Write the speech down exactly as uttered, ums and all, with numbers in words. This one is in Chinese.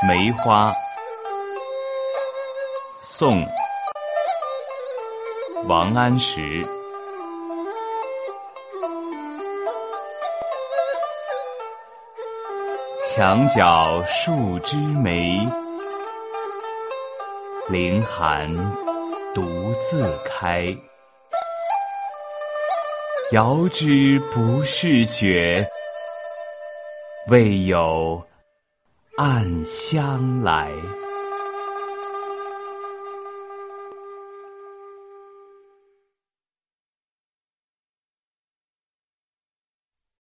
梅花，宋，王安石。墙角数枝梅，凌寒独自开。遥知不是雪，为有暗香来。